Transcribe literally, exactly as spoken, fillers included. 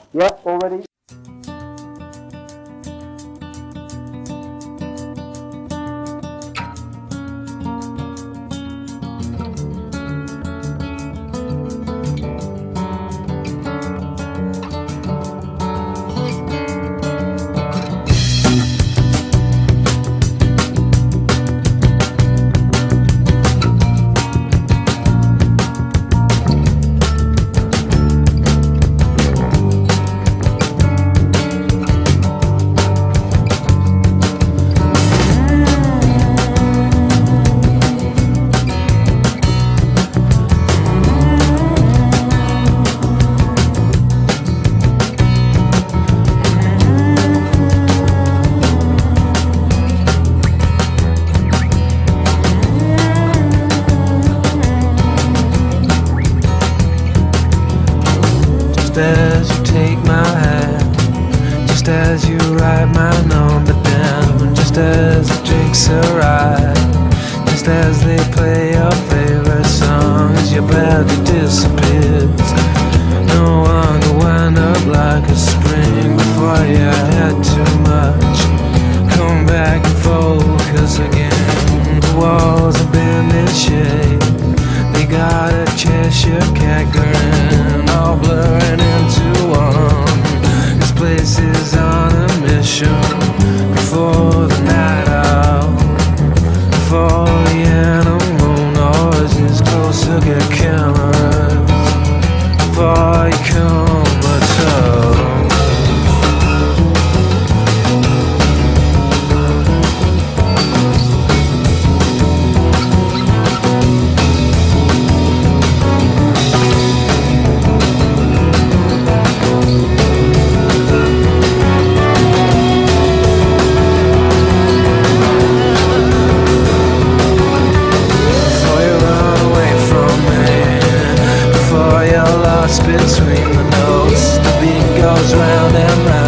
Yeah, already. As you take my hand, just as you write my number down, just as the drinks arrive, just as they play your favorite song, as your body disappears. No one could wind up like a spring before you had too much. Come back and focus again. The walls have been in shape. They got a Cheshire cat grin, all blurring into one. This place is on a mission. Before the night out, before the animal noises closer get cameras, before you come at all. Between the notes, the beat goes round and round.